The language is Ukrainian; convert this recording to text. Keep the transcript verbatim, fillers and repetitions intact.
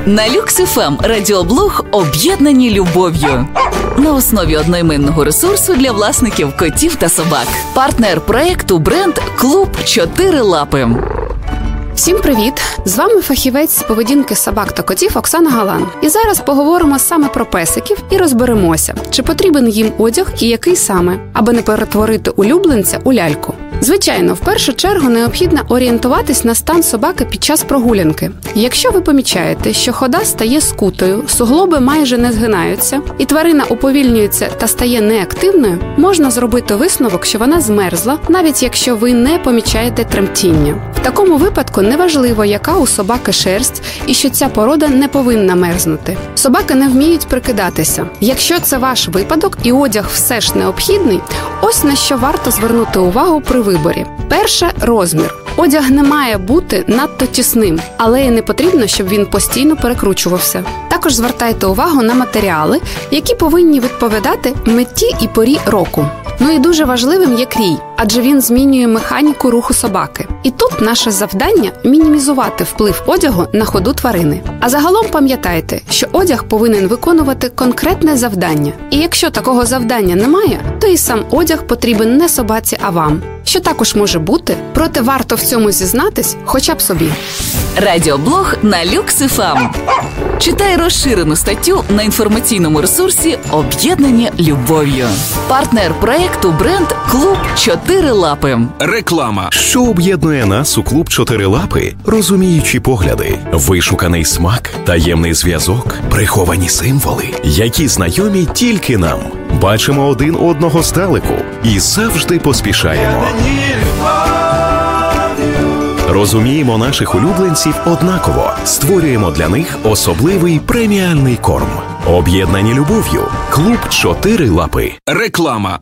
На Люкс еф ем радіоблог «Об'єднані любов'ю». На основі одноіменного ресурсу для власників котів та собак. Партнер проєкту бренд «Клуб Чотири Лапи». Всім привіт! З вами фахівець з поведінки собак та котів Оксана Галан. І зараз поговоримо саме про песиків і розберемося, чи потрібен їм одяг і який саме, аби не перетворити улюбленця у ляльку. Звичайно, в першу чергу необхідно орієнтуватись на стан собаки під час прогулянки. Якщо ви помічаєте, що хода стає скутою, суглоби майже не згинаються, і тварина уповільнюється та стає неактивною, можна зробити висновок, що вона змерзла, навіть якщо ви не помічаєте тремтіння. В такому випадку неважливо, яка у собаки шерсть, і що ця порода не повинна мерзнути. Собаки не вміють прикидатися. Якщо це ваш випадок і одяг все ж необхідний, ось на що варто звернути увагу при виборі. Перше – розмір. Одяг не має бути надто тісним, але і не потрібно, щоб він постійно перекручувався. Також звертайте увагу на матеріали, які повинні відповідати меті і порі року. Ну і дуже важливим є крій, адже він змінює механіку руху собаки. І тут наше завдання – мінімізувати вплив одягу на ходу тварини. А загалом пам'ятайте, що одяг повинен виконувати конкретне завдання. І якщо такого завдання немає, то і сам одяг потрібен не собаці, а вам. Що також може бути, проте варто в цьому зізнатись хоча б собі. Радіоблог на Люкс еф ем. Читай розширену статтю на інформаційному ресурсі «Об'єднані любов'ю». Партнер проєкту бренд «Клуб Чотири Лапи». Реклама. Що об'єднує нас у «Клуб Чотири Лапи»? Розуміючі погляди, вишуканий смак, таємний зв'язок, приховані символи, які знайомі тільки нам. Бачимо один одного здалеку і завжди поспішаємо. Розуміємо наших улюбленців однаково. Створюємо для них особливий преміальний корм. Об'єднані любов'ю. Клуб Чотири Лапи. Реклама.